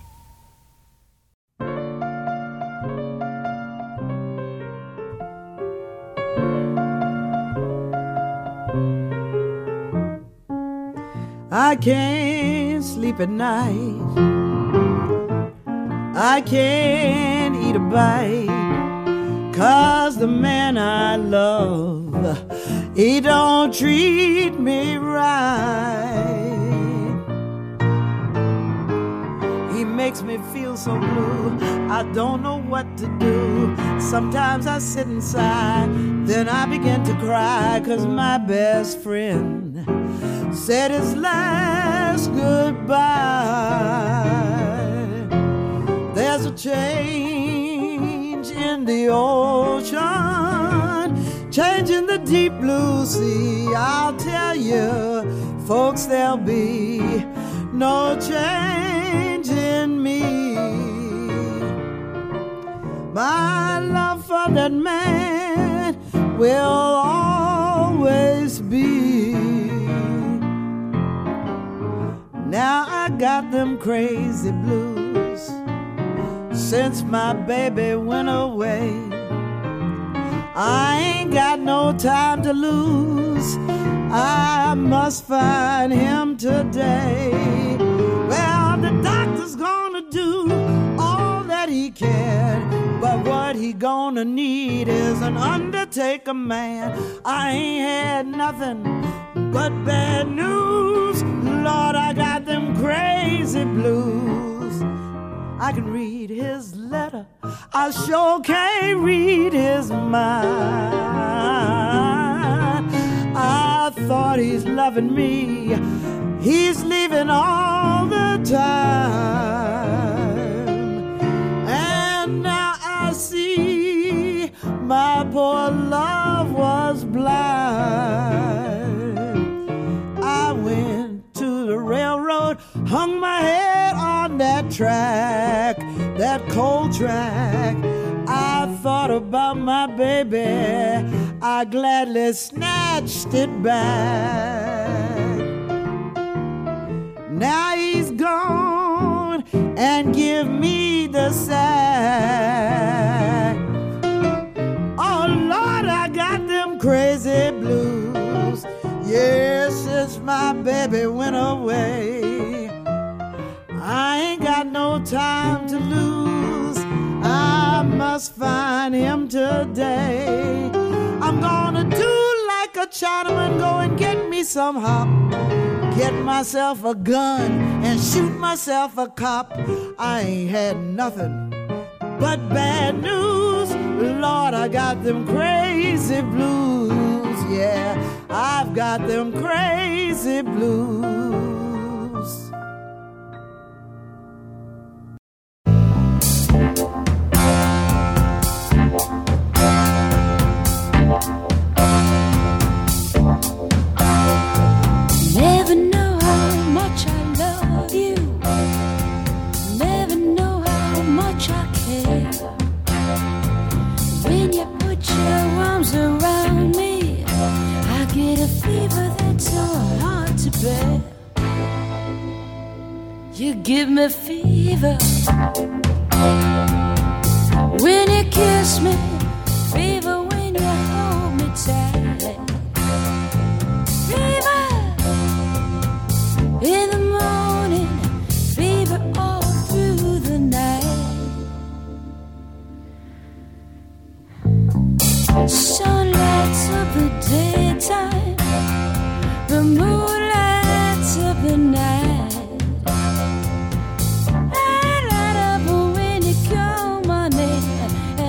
I can't sleep at night. I can't eat a bite. 'Cause the man I love, he don't treat me right. He makes me feel so blue, I don't know what to do. Sometimes I sit and sigh, then I begin to cry. 'Cause my best friend said his last goodbye. There's a change in the ocean, changing the deep blue sea. I'll tell you, folks, there'll be no change in me. My love for that man will always be. Now I got them crazy blues since my baby went away. I ain't got no time to lose, I must find him today. Well, the doctor's gonna do all that he can, but what he gonna need is an undertaker man. I ain't had nothing but bad news. Lord, I got them crazy blues. I can read his letter, I sure can't read his mind. I thought he's loving me, he's leaving all the time. And now I see my poor love was blind. I went to the railroad, hung my head on that track, that cold track. I thought about my baby, I gladly snatched it back. Now he's gone and give me the sack. Oh Lord, I got them crazy blues. Yes, since my baby went away. I ain't got no time to lose, I must find him today. I'm gonna do like a Chinaman, go and get me some hop, get myself a gun and shoot myself a cop. I ain't had nothing but bad news. Lord, I got them crazy blues. Yeah, I've got them crazy blues. Never know how much I love you. Never know how much I care. When you put your arms around me, I get a fever that's so hard to bear. You give me fever when you kiss me, fever when you hold me tight. Fever in the morning, fever all through the night. Sun lights up the daytime, the moon lights up the night. I light up when you call my name,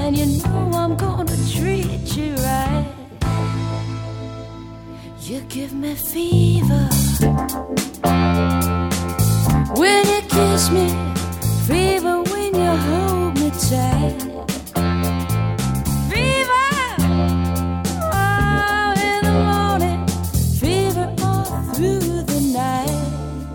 give me fever when you kiss me, fever when you hold me tight. Fever, oh, in the morning, fever all through the night.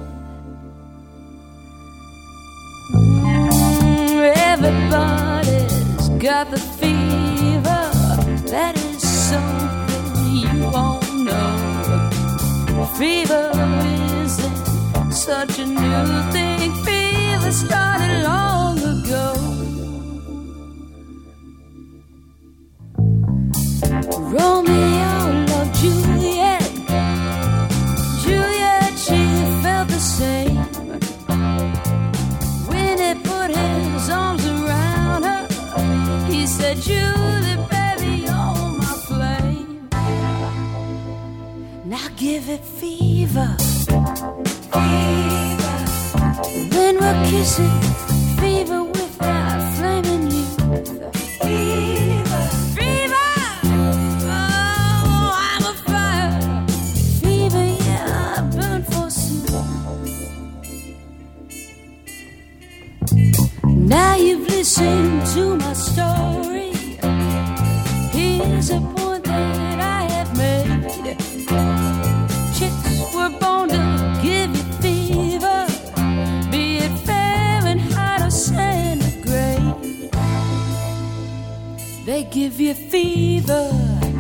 Everybody's got the fever, that is something you all know. Fever isn't such a new thing, fever started long ago. Romeo loved Juliet, Juliet, she felt the same. When he put his arms around her, he said, Julie, baby, you're my flame. Now give it fever, fever. When we're kissing, fever with that flaming youth. Fever, fever, oh, I'm a fire. Fever, yeah, I burn forsooth. Now you've listened to my story. Here's a point that I have made. Chicks were born to give you fever, be it Fahrenheit or centigrade. They give you fever,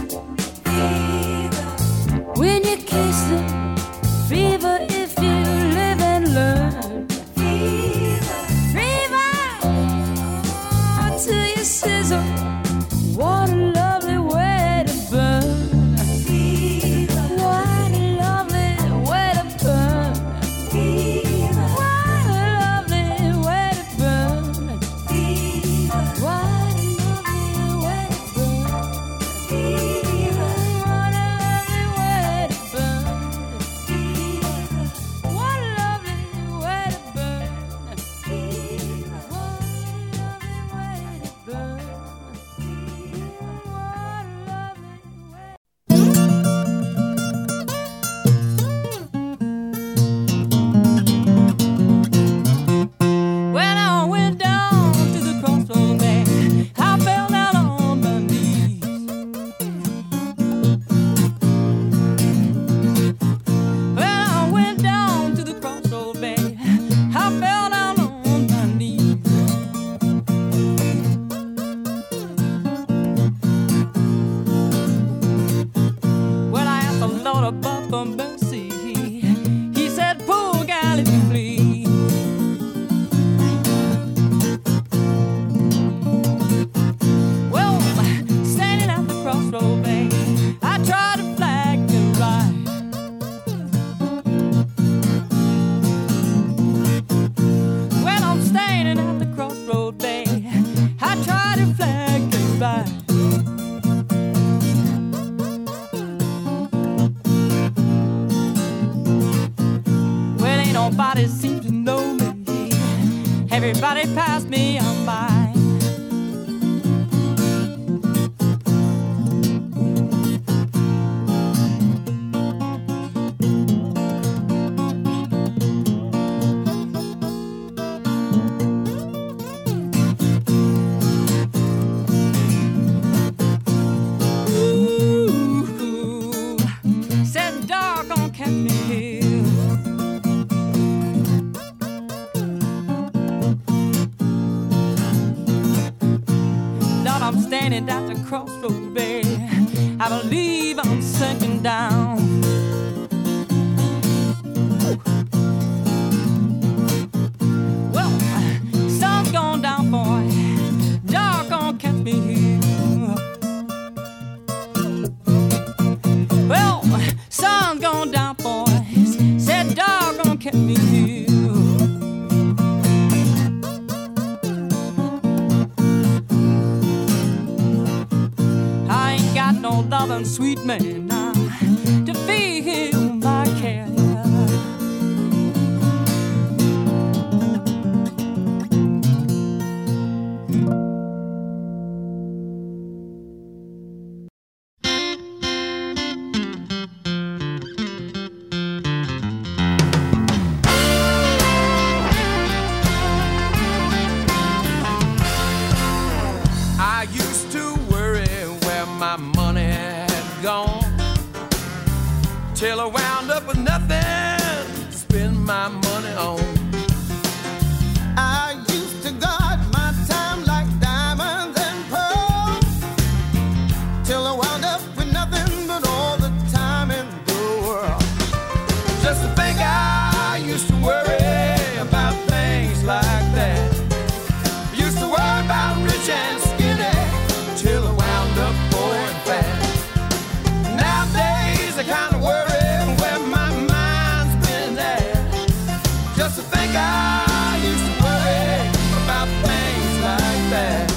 fever when you kiss them, fever if you live and learn. Fever, fever, oh, till you sizzle. What a lovely way to burn. Fever, what a lovely way to burn. Fever, what a lovely way to burn. Fever, what a lovely way to burn. Fever, what a lovely way to burn. Fever, what a lovely way to burn. Fever, what a lovely way to burn. When I went down to the crossroads, man, I fell down on my knees. When I went down to the crossroads, man, I fell down on my knees. When I asked the Lord above for mercy, he said, poor gal, if you please. Well, standing at the crossroad, babe, I tried to flag the right. When I'm standing at the crossroad, babe, I tried to flag the right. Well, ain't nobody seems to know me. Everybody passed me on by. Ooh, said dark on Captain Hill. Lord, I'm standing at the crossroad, babe. I believe I'm sinking down. Well, sun's gone down, boy. Dark on Captain Hill. Well, sun's gone down, boys. Said dark on Captain Hill. I ain't got no loving sweet man now to feel my care. till I wound up with nothing to spend my money on. I used to guard my time like diamonds and pearls, till I wound up with nothing but all the time in the world. Just to think I used to worry about things like that. I used to worry about rich and skinny, till I wound up poor and fat. Nowadays I kind of worry where my mind's been at. Just to think I used to worry about things like that.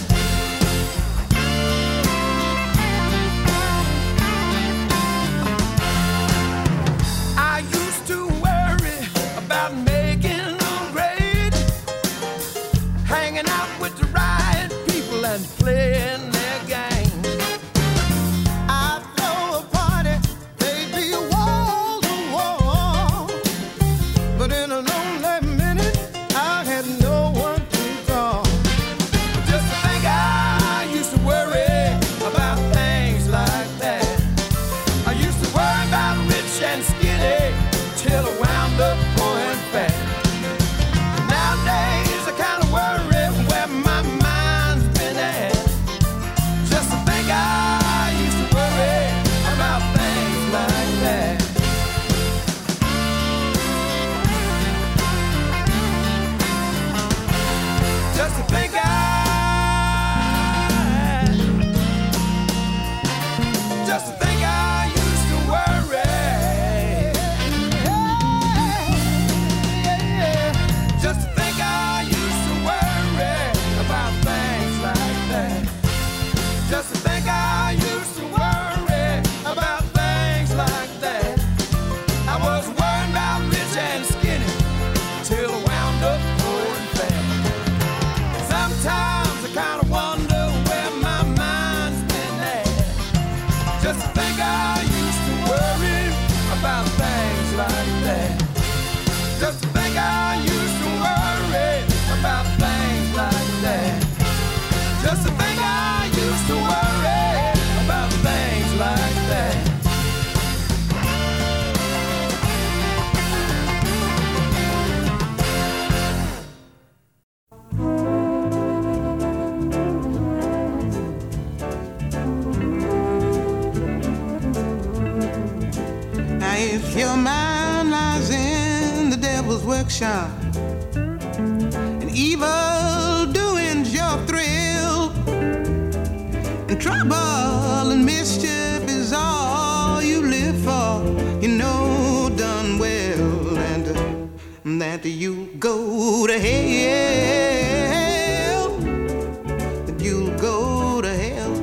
I used to worry about making a grade, hanging out with the right people and playing their game. I'd throw a party, they'd be wall to wall, but in a lonely minute I had no one to call. Just to think I used to worry about things like that. I used to worry about rich and skinny, till I wound up poor and fat. Nowadays I kind of worry where my mind's been at. Just to think I used to worry about things like that. Just to think just to think I used to worry. Just to think I used to worry about things like that. Just to think I used to worry about things like that. I was worried about rich and skinny, till I wound up poor and fat. Sometimes I kind of wonder where my mind's been at. Just to think I used to worry about things like that. Just to think I used to worry about things like that. Just to think I used to worry about things like that. Now if your mind lies in the devil's workshop and evil doing's your thrill, and trouble and mischief is all you live for, you know done well, and that you go to hell, that you'll go to hell.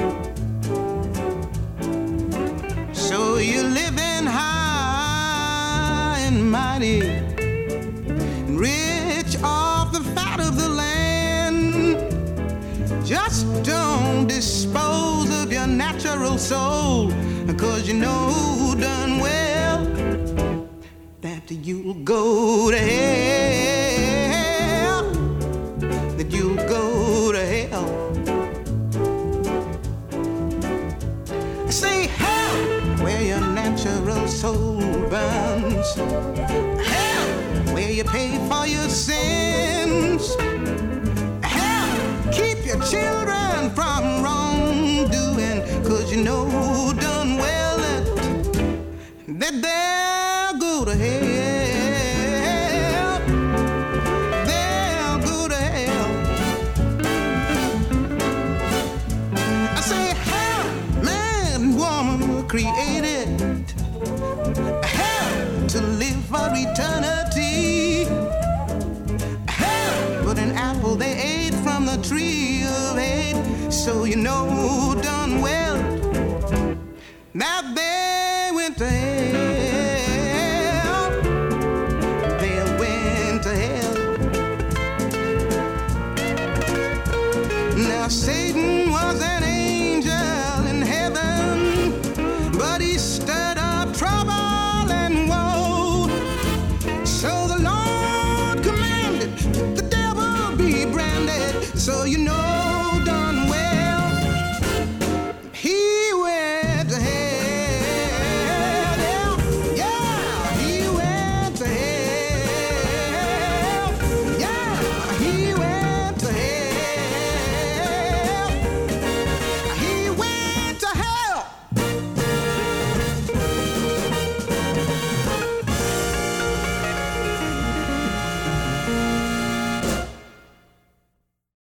So you're living high and mighty, and rich off the fat of the land. Just don't dispose of your natural soul, 'cause you know done well that you'll go to hell, that you'll go to hell. Say hell where your natural soul burns, hell where you pay for your sins, hell keep your children from wrongdoing, 'cause you know done well that they'll go to hell, they'll go to hell. I say hell, man and woman were created, hell to live for eternity, hell but an apple they ate from the tree of hate. So you know done well that they went to hell, they went to hell. Now Satan was an angel in heaven, but he stirred up trouble and woe. So the Lord commanded the devil be branded, so you know